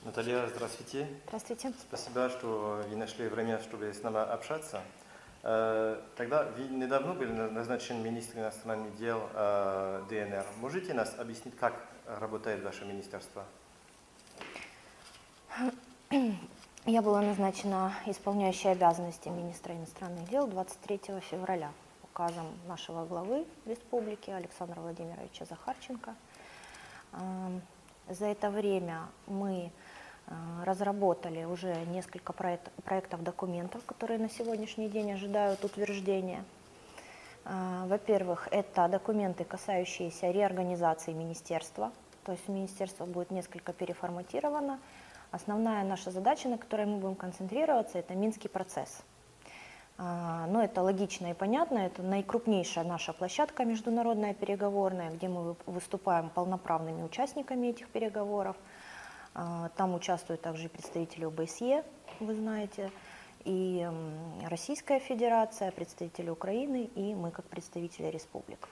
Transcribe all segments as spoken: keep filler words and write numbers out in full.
Наталья, здравствуйте. Здравствуйте. Спасибо, что вы нашли время, чтобы с нами общаться. Тогда вы недавно были назначен министром иностранных дел ДНР. Можете нас объяснить, как работает ваше министерство? Я была назначена исполняющей обязанности министра иностранных дел двадцать третьего февраля указом нашего главы республики Александра Владимировича Захарченко. За это время мы разработали уже несколько проект, проектов документов, которые на сегодняшний день ожидают утверждения. Во-первых, это документы, касающиеся реорганизации министерства, то есть министерство будет несколько переформатировано. Основная наша задача, на которой мы будем концентрироваться, это Минский процесс. Но это логично и понятно, это наикрупнейшая наша площадка международная переговорная, где мы выступаем полноправными участниками этих переговоров. Там участвуют также представители ОБСЕ, вы знаете, и Российская Федерация, представители Украины и мы как представители республик.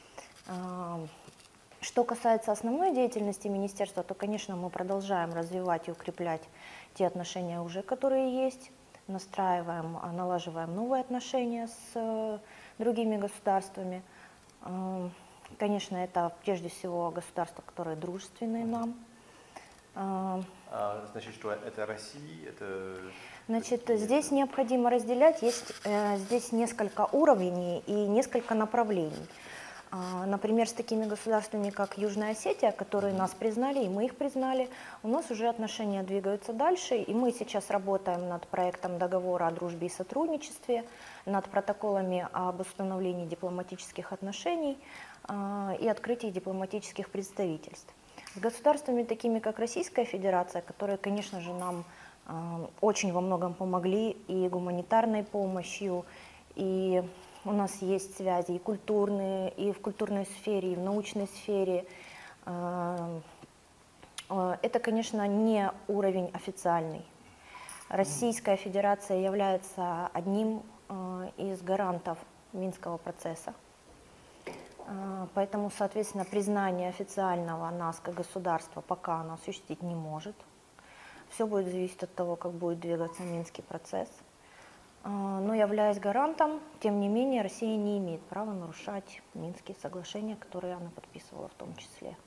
Что касается основной деятельности министерства, то, конечно, мы продолжаем развивать и укреплять те отношения уже, которые есть, настраиваем, налаживаем новые отношения с другими государствами. Конечно, это прежде всего государства, которые дружественны нам. А, значит, что это Россия? Это... Значит, здесь необходимо разделять, есть э, здесь несколько уровней и несколько направлений. А, например, с такими государствами, как Южная Осетия, которые нас признали, и мы их признали, у нас уже отношения двигаются дальше, и мы сейчас работаем над проектом договора о дружбе и сотрудничестве, над протоколами об установлении дипломатических отношений а, и открытии дипломатических представительств. С государствами, такими как Российская Федерация, которые, конечно же, нам э, очень во многом помогли и гуманитарной помощью, и у нас есть связи и культурные, и в культурной сфере, и в научной сфере. Э, э, это, конечно, не уровень официальный. Российская Федерация является одним э, из гарантов Минского процесса. Поэтому, соответственно, признание официального нас как государства пока оно осуществить не может. Все будет зависеть от того, как будет двигаться Минский процесс. Но являясь гарантом, тем не менее, Россия не имеет права нарушать Минские соглашения, которые она подписывала в том числе.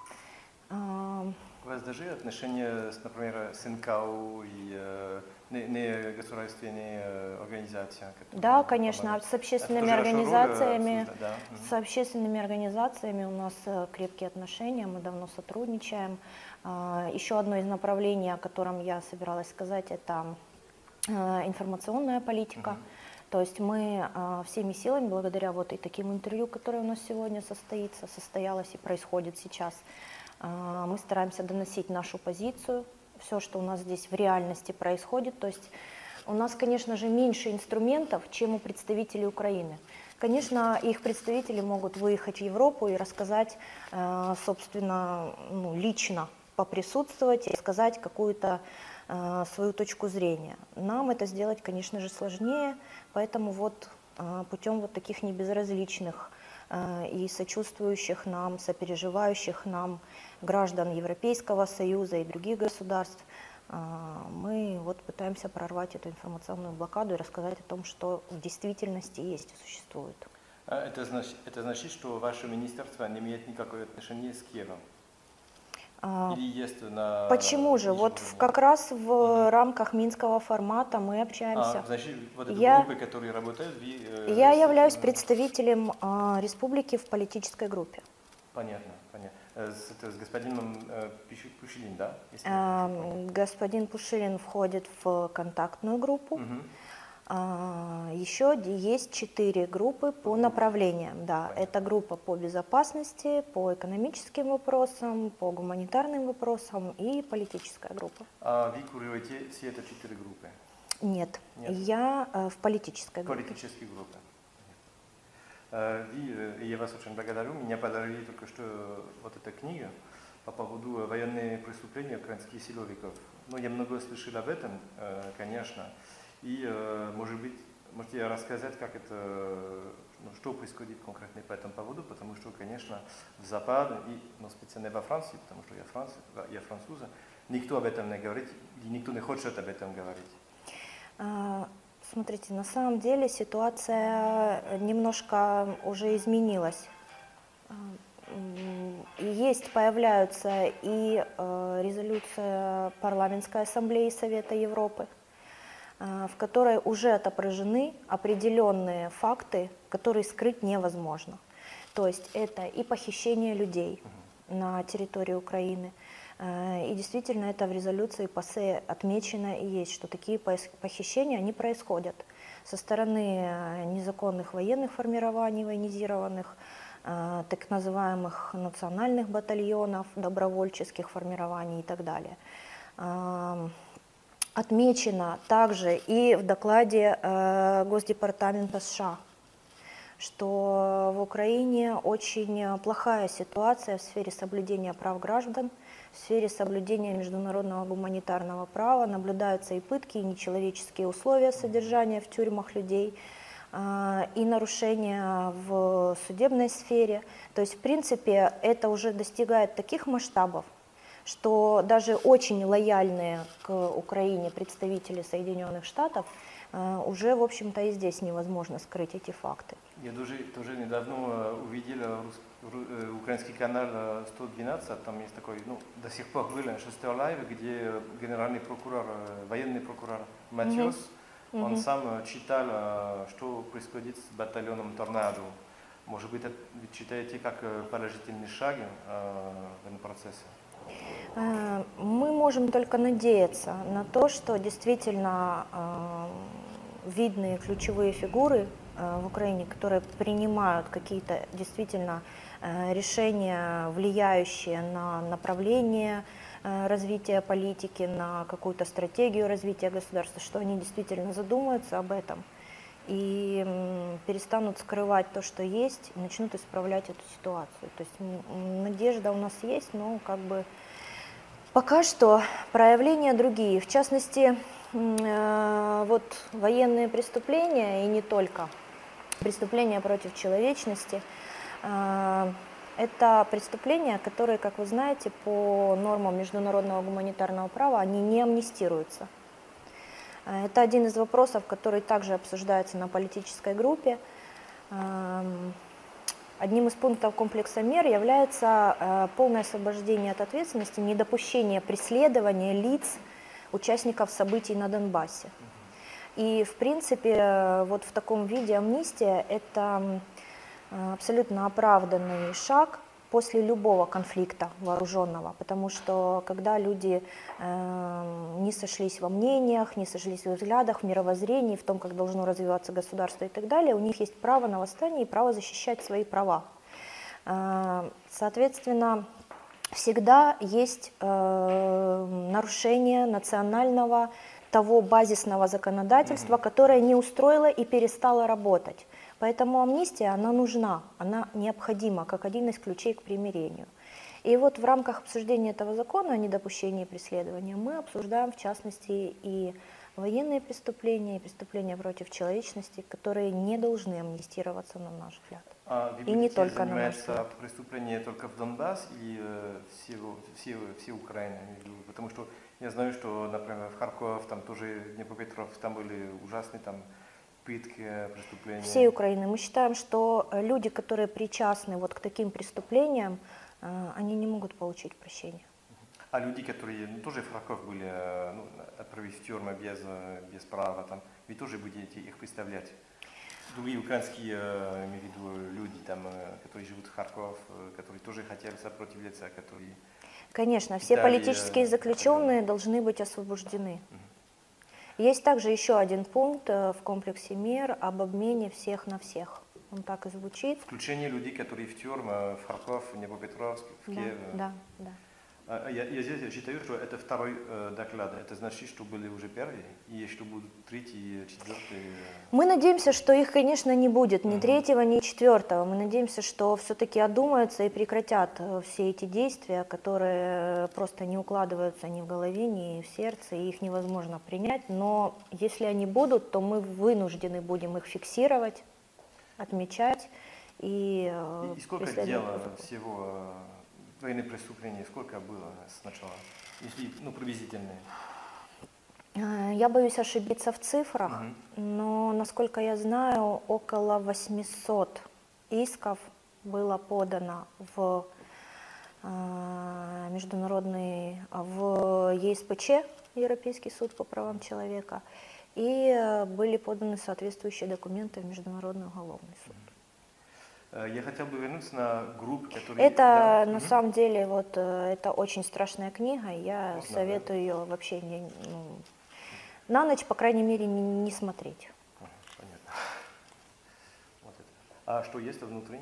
У вас даже отношения, например, с эн ка о и э, негосударственные э, организации? Да, конечно, помогают. с общественными организациями, роль, да. с общественными организациями у нас крепкие отношения, мы давно сотрудничаем. Еще одно из направлений, о котором я собиралась сказать, это информационная политика. Uh-huh. То есть мы всеми силами, благодаря вот и таким интервью, которое у нас сегодня состоится, состоялось и происходит сейчас, мы стараемся доносить нашу позицию, все, что у нас здесь в реальности происходит. То есть у нас, конечно же, меньше инструментов, чем у представителей Украины. Конечно, их представители могут выехать в Европу и рассказать, собственно, ну, лично поприсутствовать и сказать какую-то свою точку зрения. Нам это сделать, конечно же, сложнее, поэтому вот путем вот таких небезразличных и сочувствующих нам, сопереживающих нам граждан Европейского Союза и других государств, мы вот пытаемся прорвать эту информационную блокаду и рассказать о том, что в действительности есть и существует. Это значит, это значит, что ваше министерство не имеет никакого отношения с Киевом? Или есть на... Почему же? Вот в, как раз в uh-huh. рамках Минского формата мы общаемся. А, значит, вот эти я, группы, которые работают... Вы, э, я являюсь представителем э, республики в политической группе. Понятно, понятно. С, с господином э, Пушилин, да? Э, господин Пушилин входит в контактную группу. Uh-huh. Еще есть четыре группы по направлениям. Да. Это группа по безопасности, по экономическим вопросам, по гуманитарным вопросам и политическая группа. А вы курируете все эти четыре группы? Нет, Нет. я э, в политической группе. Политической группе. Вы, я вас очень благодарю. Меня подарили только что вот эта книга по поводу военных преступлений украинских силовиков. Ну, я много слышал об этом, конечно. И, может быть, можете рассказать, как это, ну, что происходит конкретно по этому поводу, потому что, конечно, в Западе, и, ну, специально во Франции, потому что я, франц, я француз, никто об этом не говорит, и никто не хочет об этом говорить. А, Смотрите, на самом деле ситуация немножко уже изменилась. А, м, и Есть, появляются и э, резолюция Парламентской ассамблеи Совета Европы, э, в которой уже отображены определенные факты, которые скрыть невозможно. То есть это и похищение людей на территории Украины, э, и действительно это в резолюции ПАСЕ отмечено и есть, что такие пос- похищения, они происходят со стороны э, незаконных военных формирований, военизированных, э, так называемых национальных батальонов, добровольческих формирований и так далее. Э, Отмечено также и в докладе э, Госдепартамента США, что в Украине очень плохая ситуация в сфере соблюдения прав граждан, в сфере соблюдения международного гуманитарного права, наблюдаются и пытки, и нечеловеческие условия содержания в тюрьмах людей, э, и нарушения в судебной сфере. То есть, в принципе, это уже достигает таких масштабов, что даже очень лояльные к Украине представители Соединенных Штатов э, уже, в общем-то, и здесь невозможно скрыть эти факты. Я тоже, тоже недавно э, увидел э, рус- ру- э, украинский канал э, сто двенадцать, там есть такой, ну, до сих пор был шестой лайв, где генеральный прокурор, э, военный прокурор Матьос, Мгм. он Мгм. сам э, читал, э, что происходит с батальоном «Торнадо». Может быть, это вы считаете как э, положительный шаг э, в этом процессе? Э, Мы можем только надеяться на то, что действительно э, видные ключевые фигуры э, в Украине, которые принимают какие-то действительно э, решения, влияющие на направление э, развития политики, на какую-то стратегию развития государства, что они действительно задумаются об этом и м, перестанут скрывать то, что есть, и начнут исправлять эту ситуацию. То есть м, надежда у нас есть, но как бы пока что проявления другие. В частности, м, э, вот военные преступления, и не только, преступления против человечности, э, это преступления, которые, как вы знаете, по нормам международного гуманитарного права, они не амнистируются. Э, Это один из вопросов, который также обсуждается на политической группе. Эм, Одним из пунктов комплекса мер является э, полное освобождение от ответственности, недопущение преследования лиц, участников событий на Донбассе. И, в принципе, э, вот в таком виде амнистия – это э, абсолютно оправданный шаг после любого конфликта вооруженного, потому что когда люди э, не сошлись во мнениях, не сошлись в взглядах, в мировоззрении, в том, как должно развиваться государство и так далее, у них есть право на восстание и право защищать свои права. Э, соответственно, всегда есть э, нарушение национального того базисного законодательства, которое не устроило и перестало работать. Поэтому амнистия, она нужна, она необходима, как один из ключей к примирению. И вот в рамках обсуждения этого закона о недопущении преследования мы обсуждаем, в частности, и военные преступления, и преступления против человечности, которые не должны амнистироваться, на наш взгляд. А вы И не будете только на наш заниматься взгляд. преступлением только в Донбасс или э, всего, все, все Украины? Потому что я знаю, что, например, в Харьков, там тоже Днепропетровск, там были ужасные там пытки, преступления. Всей Украины. Мы считаем, что э, люди, которые причастны вот к таким преступлениям, э, они не могут получить прощения. А люди, которые ну, тоже в Харьков были, э, ну, отправить в тюрьму без, э, без права, там, вы тоже будете их представлять? Другие украинские, э, имею в виду, люди, там, э, которые живут в Харьков, э, которые тоже хотели сопротивляться, которые... Конечно, все Италия, политические заключенные должны быть освобождены. Есть также еще один пункт э, в комплексе мер об обмене всех на всех. Он так и звучит. Включение людей, которые в тюрьму, в Харьков, в Днепропетровск, в Да, Киев. да, да. А, Я, я здесь считаю, что это второй э, доклад. Это значит, что были уже первые, и что будут третий, четвертый. Мы надеемся, что их, конечно, не будет ни Мгм. третьего, ни четвертого. Мы надеемся, что все-таки одумаются и прекратят э, все эти действия, которые просто не укладываются ни в голове, ни в сердце, и их невозможно принять. Но если они будут, то мы вынуждены будем их фиксировать, отмечать и, э, И, и сколько преследовать дел по закону. всего военных преступлений сколько было сначала, если, ну, приблизительные? Я боюсь ошибиться в цифрах, Мгм. но, насколько я знаю, около восьмисот исков было подано в э, международный, в Е С П Ч, Европейский суд по правам человека, и э, были поданы соответствующие документы в Международный уголовный суд. Э, Я хотел бы вернуться на группы, которые... Это Да, на мгм. самом деле вот э, это очень страшная книга, и я Можно, советую ее вообще не, ну, на ночь, по крайней мере, не, не смотреть. Ага, понятно. Вот это. А что есть внутри?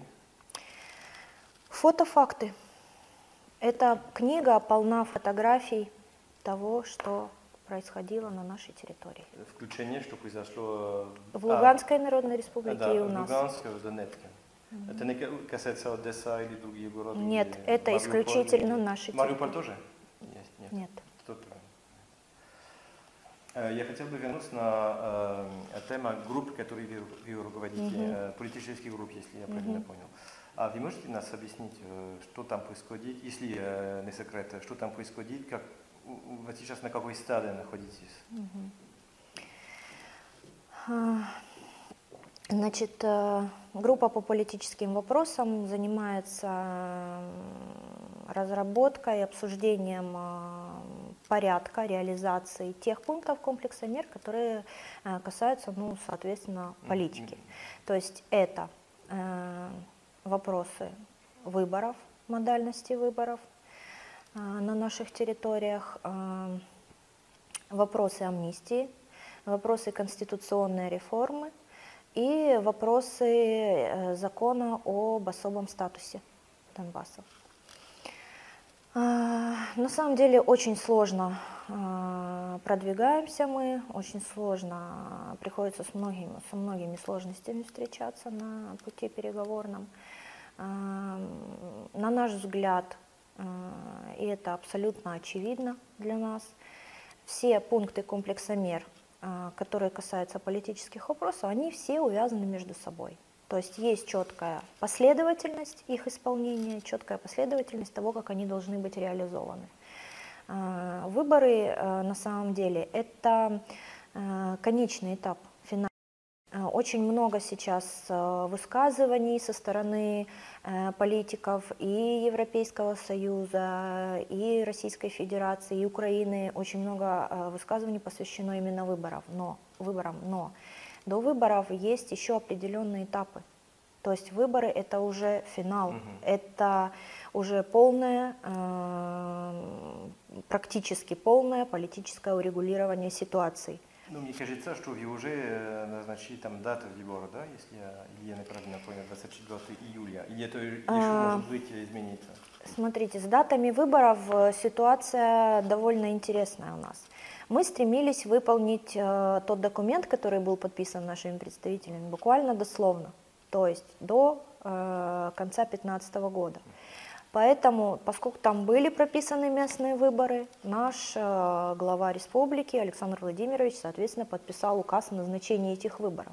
Фотофакты. Эта книга полна фотографий того, что происходило на нашей территории. Включение, что произошло... В а, Луганской Народной а, Республике да, и у в нас. Луганске, в Донецке. Это не касается Одесса или другие города? Нет, или это Мариуполь, исключительно или- наши Мариуполь территории. тоже? Есть, нет. Нет. Тут правильно. Э, Я хотел бы вернуться на э, тему групп, которые вы, вы руководите, Мгм. э, политических групп, если я правильно Мгм. понял. А вы можете нас объяснить, э, что там происходит, если э, не секрет, что там происходит, как у- вы сейчас на какой стадии находитесь? А, Значит, э, группа по политическим вопросам занимается м, разработкой и обсуждением э, порядка реализации тех пунктов комплекса мер, которые э, касаются, ну, соответственно, политики. То есть это э, вопросы выборов, модальности выборов э, на наших территориях, э, вопросы амнистии, вопросы конституционной реформы и вопросы э, закона об особом статусе Донбасса. А, На самом деле очень сложно а, продвигаемся мы, очень сложно, приходится с многими, со многими сложностями встречаться на пути переговорном. А, На наш взгляд, а, и это абсолютно очевидно для нас, все пункты комплекса мер, а, которые касаются политических вопросов, они все увязаны между собой. То есть есть четкая последовательность их исполнения, четкая последовательность того, как они должны быть реализованы. А, Выборы а, на самом деле это а, конечный этап, финальный. А, Очень много сейчас а, высказываний со стороны э, политиков и Европейского Союза, и Российской Федерации, и Украины. Очень много а, высказываний посвящено именно выборам. Но, выборам. Но до выборов есть еще определенные этапы. То есть выборы – это уже финал, Мгм. это уже полное, э, практически полное политическое урегулирование ситуации. Ну, мне кажется, что вы уже э, назначили там дату выбора, да, если я, или я неправильно понял, двадцать четвёртого июля, или это еще А, может быть измениться? Смотрите, с датами выборов э, ситуация довольно интересная у нас. Мы стремились выполнить э, тот документ, который был подписан нашими представителями, буквально дословно, то есть до э, конца две тысячи пятнадцатого года. Поэтому, поскольку там были прописаны местные выборы, наш э, глава республики Александр Владимирович, соответственно, подписал указ о назначении этих выборов.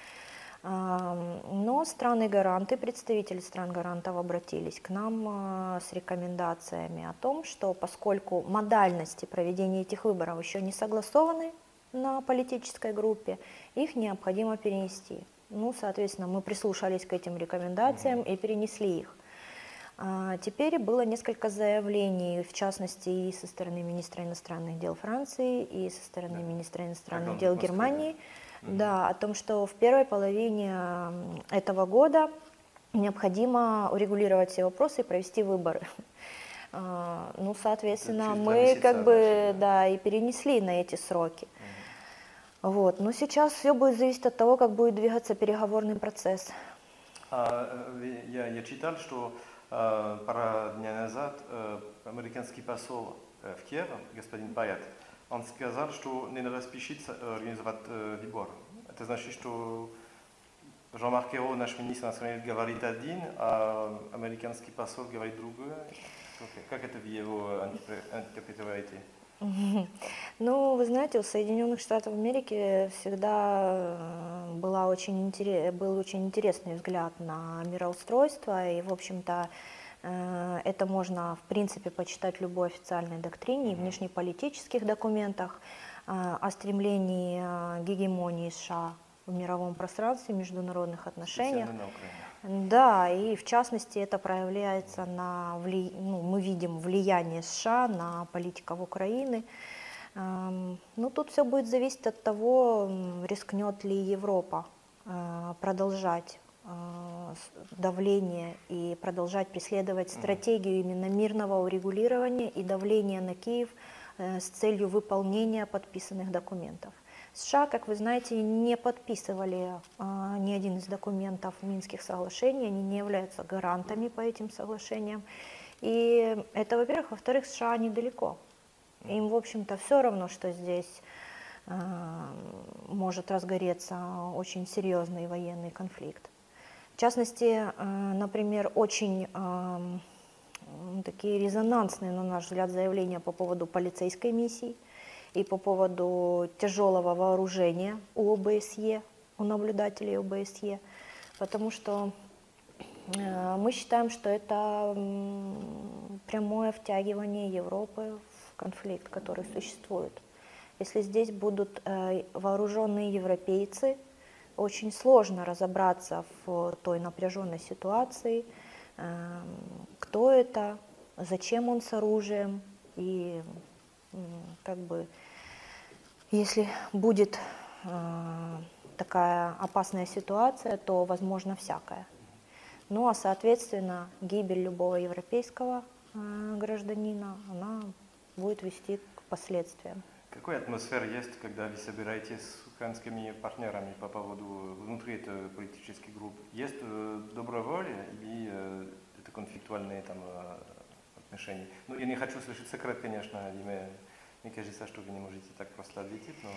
Но страны-гаранты, представители стран-гарантов обратились к нам э, с рекомендациями о том, что поскольку модальности проведения этих выборов еще не согласованы на политической группе, их необходимо перенести. Ну, соответственно, мы прислушались к этим рекомендациям и перенесли их. А Теперь было несколько заявлений, в частности, и со стороны министра иностранных дел Франции, и со стороны Да. министра иностранных Когда он дел в Москве, да? Германии, Мгм. да, о том, что в первой половине м, этого года необходимо урегулировать все вопросы и провести выборы. А, Ну, соответственно, через два мы месяца, как бы, значит, да. да, и перенесли на эти сроки. Вот. Но сейчас все будет зависеть от того, как будет двигаться переговорный процесс. А, э, я, я читал, что э, пара дней назад э, американский посол э, в Киеве, господин Паят, он сказал, что не надо спешить э, организовать э, выбор. Это значит, что Жан-Марк Ayrault, наш министр иностранных дел, говорит один, а американский посол говорит другое. Как это вы его интерпретируете? Ну, вы знаете, у Соединенных Штатов Америки всегда э, была очень интерес, был очень интересный взгляд на мироустройство, и, в общем-то, Это можно, в принципе, почитать в любой официальной доктрине и внешнеполитических документах о стремлении гегемонии США в мировом пространстве, в международных отношениях. Да, и в частности это проявляется на, вли... ну, мы видим влияние США на политиков Украины. Ну, тут все будет зависеть от того, рискнет ли Европа продолжать давление и продолжать преследовать стратегию именно мирного урегулирования и давления на Киев с целью выполнения подписанных документов. США, как вы знаете, не подписывали а, ни один из документов Минских соглашений, они не являются гарантами по этим соглашениям. И это, во-первых. Во-вторых, США недалеко. Им, в общем-то, все равно, что здесь а, может разгореться очень серьезный военный конфликт. В частности, а, например, очень а, такие резонансные, на наш взгляд, заявления по поводу полицейской миссии и по поводу тяжелого вооружения у ОБСЕ, у наблюдателей ОБСЕ, потому что э, мы считаем, что это прямое втягивание Европы в конфликт, который существует. Если здесь будут э, вооруженные европейцы, очень сложно разобраться в той напряженной ситуации, э, кто это, зачем он с оружием и как бы, если будет э, такая опасная ситуация, то возможно всякое. Ну а соответственно гибель любого европейского э, гражданина, она будет вести к последствиям. Какая атмосфера есть, когда вы собираетесь с украинскими партнерами по поводу внутри этой политической группы? Есть э, добрая воля или э, это конфликтуальные там отношения? Ну, я не хочу слышать секрет, конечно, Диме. Мне кажется, что вы не можете так просто ответить, но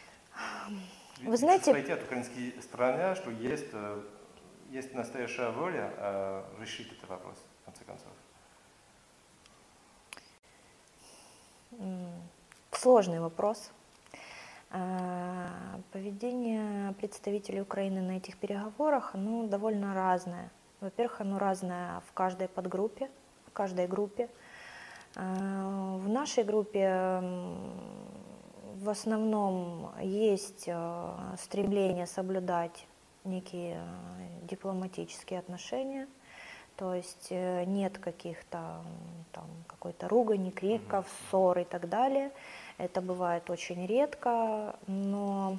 вы знаете, чувствуете от украинской стороны, что есть, есть настоящая воля э, решить этот вопрос, в конце концов? Сложный вопрос. Поведение представителей Украины на этих переговорах, оно довольно разное. Во-первых, оно разное в каждой подгруппе, в каждой группе. В нашей группе в основном есть стремление соблюдать некие дипломатические отношения, то есть нет каких-то там какой-то ругани, криков, ссор и так далее. Это бывает очень редко, но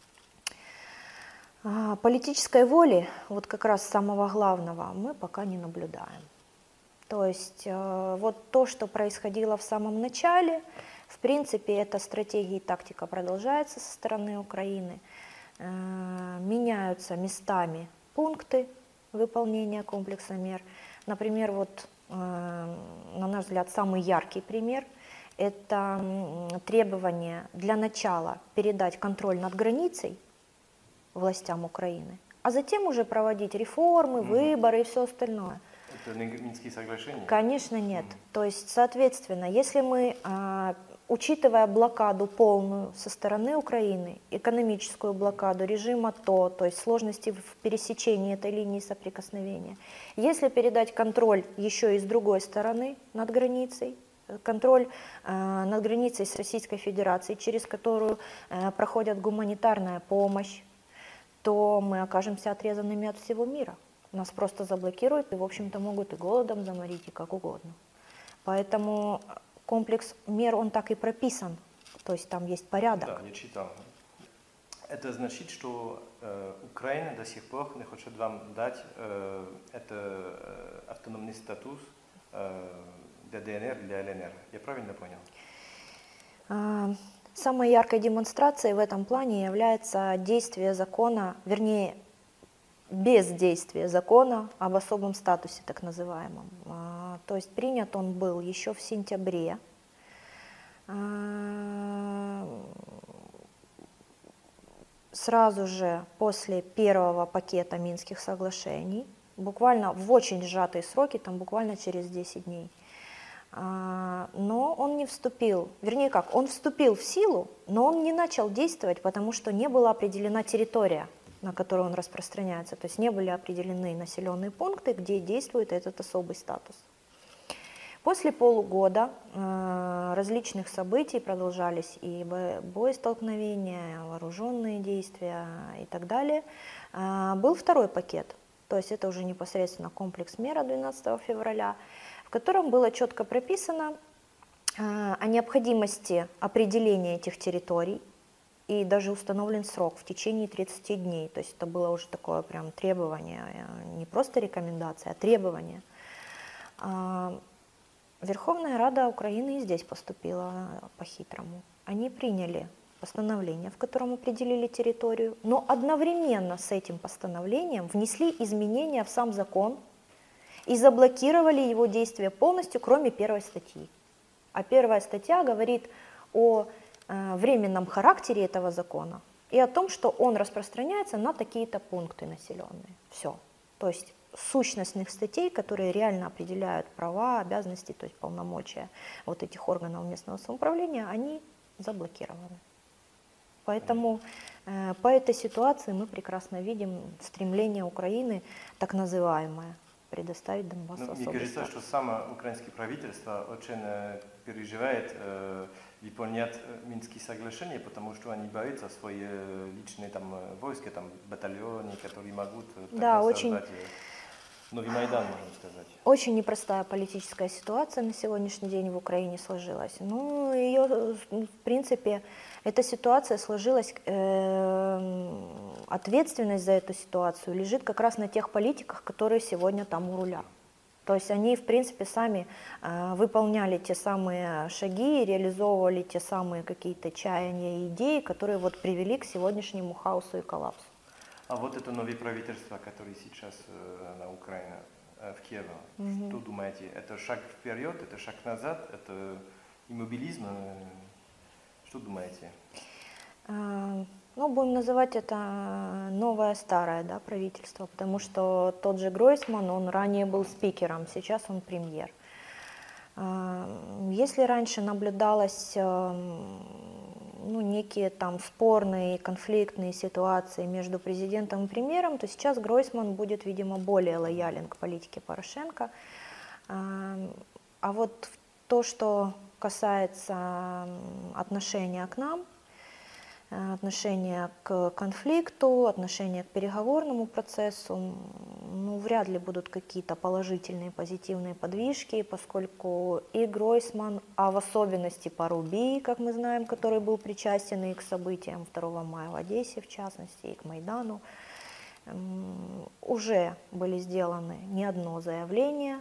политической воли, вот как раз самого главного, мы пока не наблюдаем. То есть вот то, что происходило в самом начале, в принципе, эта стратегия и тактика продолжается со стороны Украины. Меняются местами пункты выполнения комплекса мер. Например, вот, на наш взгляд, самый яркий пример – это требование для начала передать контроль над границей властям Украины, а затем уже проводить реформы, выборы и все остальное. Это не Минские соглашения? Конечно, нет. Mm. То есть, соответственно, если мы, а, учитывая блокаду полную со стороны Украины, экономическую блокаду, режим АТО, то есть сложности в пересечении этой линии соприкосновения, если передать контроль еще и с другой стороны над границей, контроль а, над границей с Российской Федерацией, через которую а, проходит гуманитарная помощь, то мы окажемся отрезанными от всего мира. Нас просто заблокируют и, в общем-то, могут и голодом заморить, и как угодно. Поэтому комплекс мер, он так и прописан, то есть там есть порядок. Да, я читал. Это значит, что э, Украина до сих пор не хочет вам дать э, это, э, автономный статус э, для ДНР, для ЛНР. Я правильно понял? А, самой яркой демонстрацией в этом плане является действие закона, вернее, бездействие закона об особом статусе, так называемом. А, то есть принят он был еще в сентябре. А, сразу же после первого пакета Минских соглашений, буквально в очень сжатые сроки, там буквально через десять дней. А, но он не вступил, вернее как, он вступил в силу, но он не начал действовать, потому что не была определена территория, на которую он распространяется. То есть не были определены населенные пункты, где действует этот особый статус. После полугода э, различных событий продолжались и бо- боестолкновения, вооруженные действия и так далее, э, был второй пакет. То есть это уже непосредственно комплекс мер двенадцатого февраля, в котором было четко прописано э, о необходимости определения этих территорий, и даже установлен срок в течение тридцати дней. То есть это было уже такое прям требование, не просто рекомендация, а требование. Верховная Рада Украины и здесь поступила по-хитрому. Они приняли постановление, в котором определили территорию, но одновременно с этим постановлением внесли изменения в сам закон и заблокировали его действие полностью, кроме первой статьи. А первая статья говорит о э, временном характере этого закона и о том, что он распространяется на такие-то пункты населенные. Все. То есть сущностных статей, которые реально определяют права, обязанности, то есть полномочия вот этих органов местного самоуправления, они заблокированы. Поэтому э, по этой ситуации мы прекрасно видим стремление Украины, так называемое, предоставить Донбассу Ну, особый мне кажется, статус. что само украинское правительство очень э, переживает э, выполнять э, Минские соглашения, потому что они боятся свои э, личные там, э, войска, там, батальоны, которые могут э, Да, тогда очень- создать э, новый Майдан, можно сказать. Очень непростая политическая ситуация на сегодняшний день в Украине сложилась. Ну, ее, в принципе, эта ситуация сложилась, э, ответственность за эту ситуацию лежит как раз на тех политиках, которые сегодня там у руля. То есть они, в принципе, сами э, выполняли те самые шаги, реализовывали те самые какие-то чаяния и идеи, которые вот привели к сегодняшнему хаосу и коллапсу. А вот это новое правительство, которое сейчас э, на Украине, э, в Киеве, Мгм. что думаете? Это шаг вперед, это шаг назад, это иммобилизм? э, Что думаете? А, Ну, будем называть это новое старое, да, правительство, потому что тот же Гройсман, он ранее был спикером, сейчас он премьер. А, Если раньше наблюдалось эм, ну, некие там спорные, конфликтные ситуации между президентом и премьером, то сейчас Гройсман будет, видимо, более лоялен к политике Порошенко. А а вот то, что касается м, отношения к нам, э, отношения к конфликту, отношения к переговорному процессу, м, ну, вряд ли будут какие-то положительные, позитивные подвижки, поскольку и Гройсман, а в особенности Парубий, как мы знаем, который был причастен и к событиям второго мая в Одессе, в частности, и к Майдану, м, уже были сделаны не одно заявление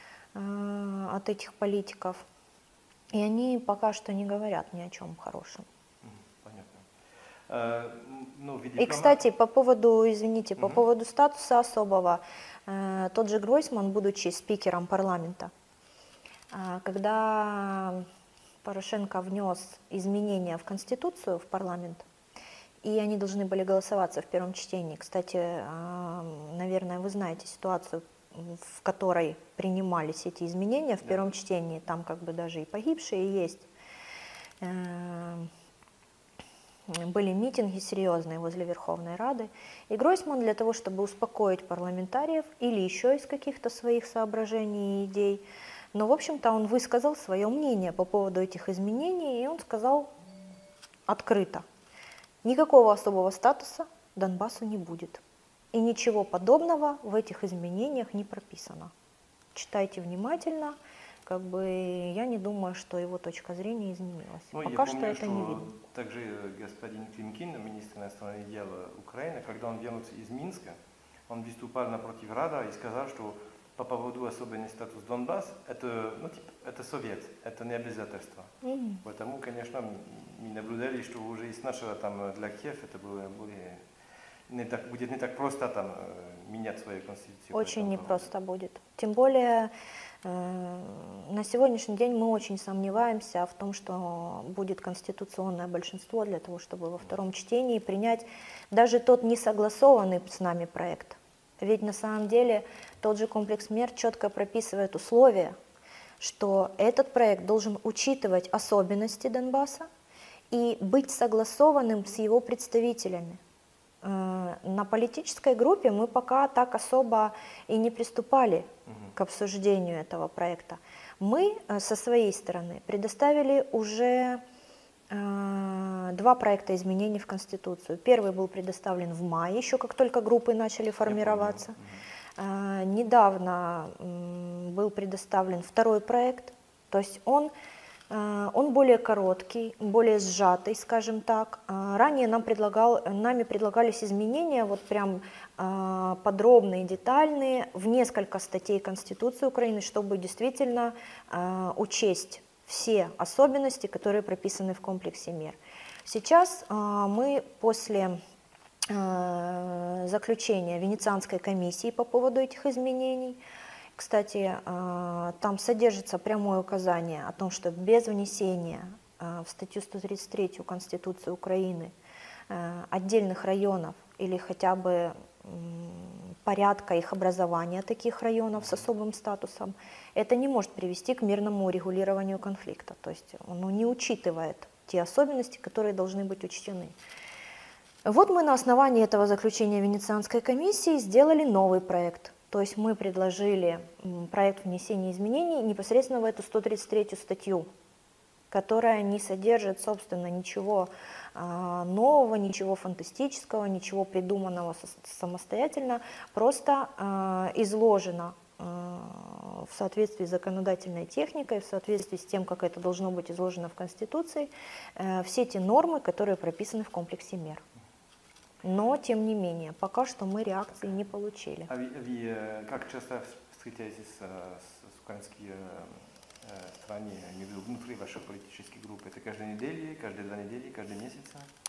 э, от этих политиков, и они пока что не говорят ни о чем хорошем. Мгм, понятно. Э, м, ну, в виде И, дипломата- кстати, по поводу, извините, по Мгм. поводу статуса особого, э, тот же Гройсман, будучи спикером парламента, а, когда Порошенко внес изменения в Конституцию, в парламент, и они должны были голосоваться в первом чтении. Кстати, а, наверное, вы знаете ситуацию, в которой принимались эти изменения в Да. первом чтении, там как бы даже и погибшие есть. Э, Были митинги серьезные возле Верховной Рады, и Гройсман для того, чтобы успокоить парламентариев или еще из каких-то своих соображений и идей, но, в общем-то, он высказал свое мнение по поводу этих изменений, и он сказал открыто: никакого особого статуса Донбассу не будет, и ничего подобного в этих изменениях не прописано. Читайте внимательно, как бы я не думаю, что его точка зрения изменилась. Ну, Пока я что помню, это не видно. также э, господин Климкин, министр иностранных дел Украины, когда он вернулся из Минска, он выступал напротив Рада и сказал, что по поводу особенный статус Донбасс, это, ну, типа, это совет, это не обязательство. Мгм. Поэтому, конечно, м- мы наблюдали, что уже и сначала там для Киева это было более, не так, будет не так просто там э, менять свою конституцию. по Очень этому непросто будет. Тем более э, на сегодняшний день мы очень сомневаемся в том, что будет конституционное большинство для того, чтобы во втором чтении принять даже тот несогласованный с нами проект. Ведь на самом деле тот же комплекс мер четко прописывает условия, что этот проект должен учитывать особенности Донбасса и быть согласованным с его представителями. э, на политической группе мы пока так особо и не приступали угу. к обсуждению этого проекта. Мы э, со своей стороны предоставили уже э, два проекта изменений в Конституцию. Первый был предоставлен в мае, еще как только группы начали формироваться. Э, недавно э, был предоставлен второй проект, то есть он Он более короткий, более сжатый, скажем так. Ранее нам предлагал, нами предлагались изменения, вот прям подробные, детальные, в несколько статей Конституции Украины, чтобы действительно учесть все особенности, которые прописаны в комплексе мер. Сейчас мы после заключения Венецианской комиссии по поводу этих изменений, кстати, там содержится прямое указание о том, что без внесения в статью сто тридцать три Конституции Украины отдельных районов или хотя бы порядка их образования таких районов с особым статусом, это не может привести к мирному урегулированию конфликта. То есть оно не учитывает те особенности, которые должны быть учтены. Вот мы на основании этого заключения Венецианской комиссии сделали новый проект. То есть мы предложили проект внесения изменений непосредственно в эту сто тридцать третью статью, которая не содержит, собственно, ничего нового, ничего фантастического, ничего придуманного самостоятельно, просто изложено в соответствии с законодательной техникой, в соответствии с тем, как это должно быть изложено в Конституции, все те нормы, которые прописаны в комплексе мер. Но, тем не менее, пока что мы реакции не получили. А вы, вы как часто встречаетесь с, с украинскими странами внутри вашей политической группы? Это каждую неделю, каждые два недели, каждый месяц?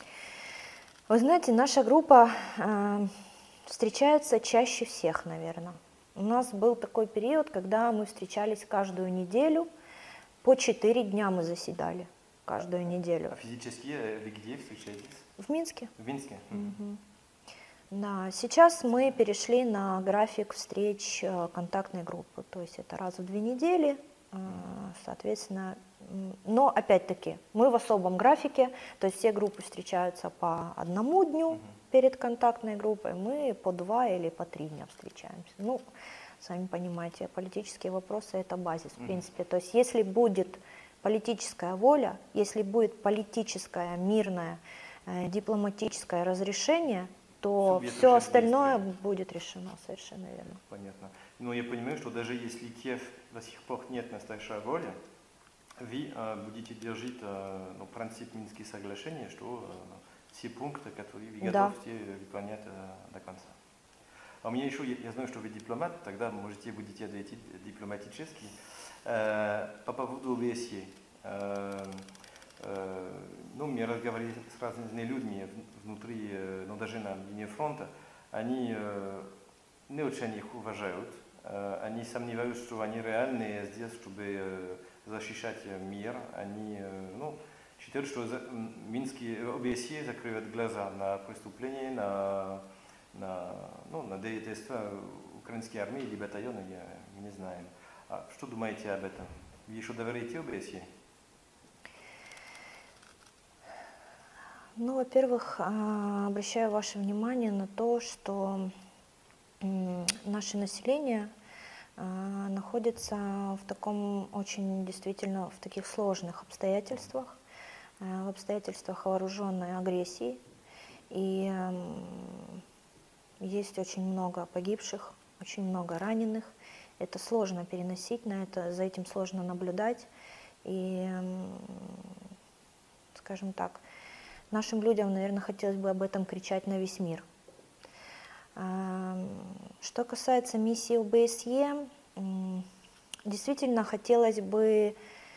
Вы знаете, наша группа э, встречается чаще всех, наверное. У нас был такой период, когда мы встречались каждую неделю, по четыре дня мы заседали каждую неделю. А физически вы где встречаетесь? В Минске. В Минске? Угу. Да, сейчас мы перешли на график встреч контактной группы, то есть это раз в две недели, соответственно, но опять-таки мы в особом графике, то есть все группы встречаются по одному дню перед контактной группой, мы по два или по три дня встречаемся. Ну, сами понимаете, политические вопросы – это базис, в принципе, то есть если будет политическая воля, если будет политическое, мирное, дипломатическое разрешение, то Субъект все остальное будет решено, совершенно верно. Понятно. Но я понимаю, что даже если Киев до сих пор нет настоящей воли, вы э, будете держать э, ну, принцип Минских соглашений, что э, все пункты, которые вы да. готовы выполнять э, до конца. А у меня еще, я, я знаю, что вы дипломат, тогда можете будете ответить дипломатически. Э, по поводу ОБСЕ. Э, э, ну, мы разговаривали с разными людьми внутри, э, ну, даже на линии фронта. Они э, не очень их уважают. Э, они сомневаются, что они реальные здесь, чтобы э, защищать мир. Они э, ну, считают, что за, Минские ОБСЕ закрывают глаза на преступления, на, на, ну, на деятельство украинской армии или батальона, я, мы не знаем. А что думаете об этом? Вы еще доверяете ОБСЕ? Ну, во-первых, обращаю ваше внимание на то, что наше население находится в таком очень действительно в таких сложных обстоятельствах, в обстоятельствах вооруженной агрессии. И есть очень много погибших, очень много раненых. Это сложно переносить, на это, за этим сложно наблюдать. И, скажем так, нашим людям, наверное, хотелось бы об этом кричать на весь мир. Что касается миссии ОБСЕ, действительно хотелось бы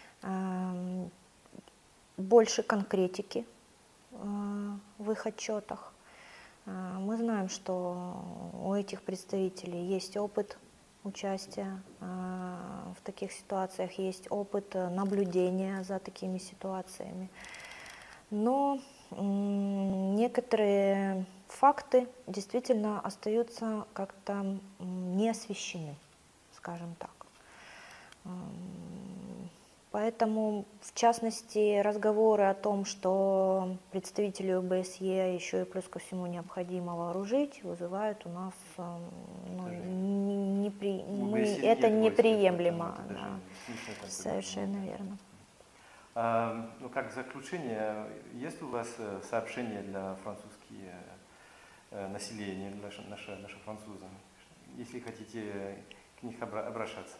больше конкретики в их отчетах. Мы знаем, что у этих представителей есть опыт участия в таких ситуациях, есть опыт наблюдения за такими ситуациями. Но некоторые факты действительно остаются как-то не освещены, скажем так. Поэтому, в частности, разговоры о том, что представителей ОБСЕ еще и плюс ко всему необходимо вооружить, вызывают у нас, э, ну, не, не при- мы, это неприемлемо. Это даже Да. смешно такое. Совершенно верно. А, ну, как заключение, есть у вас э, сообщения для французские э, населения, для ш- наши, наши французы, если хотите к них обра- обращаться?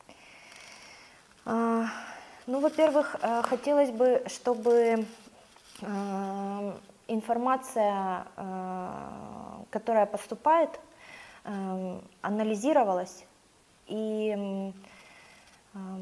А, Ну, во-первых, э, хотелось бы, чтобы э, информация, э, которая поступает, э, анализировалась и, м, ам,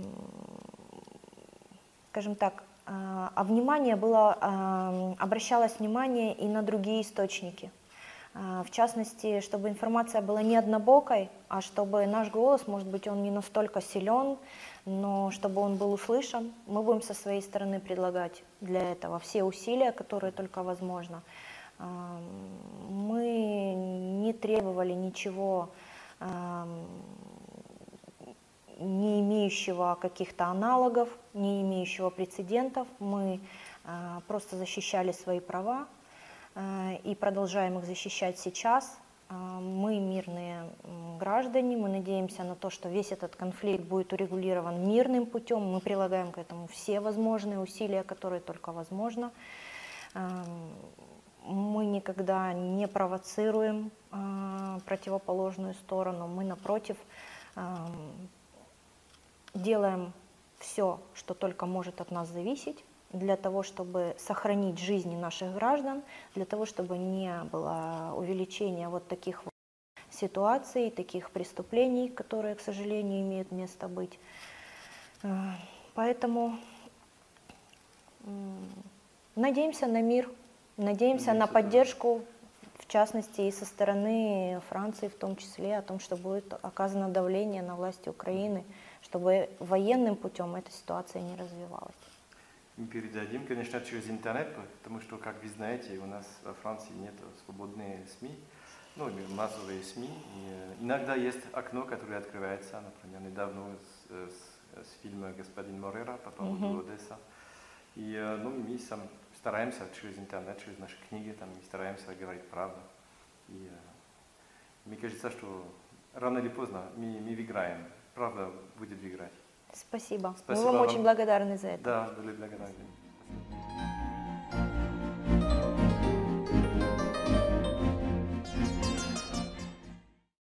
скажем так, э, а внимание было, э, обращалось внимание и на другие источники. Э, В частности, чтобы информация была не однобокой, а чтобы наш голос, может быть, он не настолько силен, но чтобы он был услышан. Мы будем со своей стороны предлагать для этого все усилия, которые только возможно. Эм, Мы не требовали ничего, эм, не имеющего каких-то аналогов, не имеющего прецедентов. Мы э, просто защищали свои права э, и продолжаем их защищать сейчас. Э, Мы мирные м, граждане, мы надеемся на то, что весь этот конфликт будет урегулирован мирным путем. Мы прилагаем к этому все возможные усилия, которые только возможно. Эм, Мы никогда не провоцируем э, противоположную сторону, мы, напротив, эм, делаем все, что только может от нас зависеть, для того, чтобы сохранить жизни наших граждан, для того, чтобы не было увеличения вот таких вот ситуаций, таких преступлений, которые, к сожалению, имеют место быть. Э, Поэтому м, надеемся на мир, надеемся на Надеемся тоже. поддержку, в частности, и со стороны Франции в том числе, о том, что будет оказано давление на власти Украины, чтобы военным путем эта ситуация не развивалась. Мы передадим, конечно, через интернет, потому что, как вы знаете, у нас во Франции нет свободных СМИ, ну, массовые СМИ. И иногда есть окно, которое открывается, например, недавно с, с, с фильма «Господин Морера» по поводу Мгм. Одессы. И ну, мы сам стараемся через интернет, через наши книги, там, мы стараемся говорить правду. И мне кажется, что рано или поздно мы, мы выиграем, правда будет выиграть. Спасибо. Спасибо Мы вам вам. очень благодарны за это. Да, были благодарны.